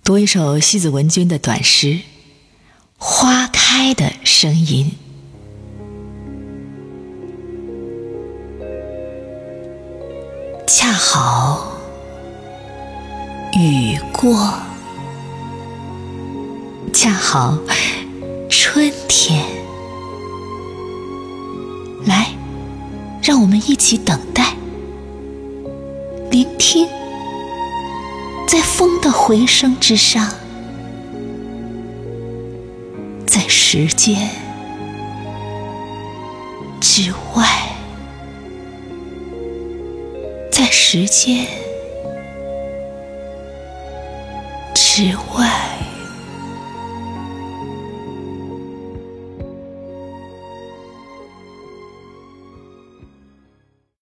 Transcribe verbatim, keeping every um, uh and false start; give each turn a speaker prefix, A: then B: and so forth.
A: 读一首西子文君的短诗《花开的声音》。恰好雨过，恰好春天，来，让我们一起等待，聆听，在风的回声之上，在时间之外，在时间之外。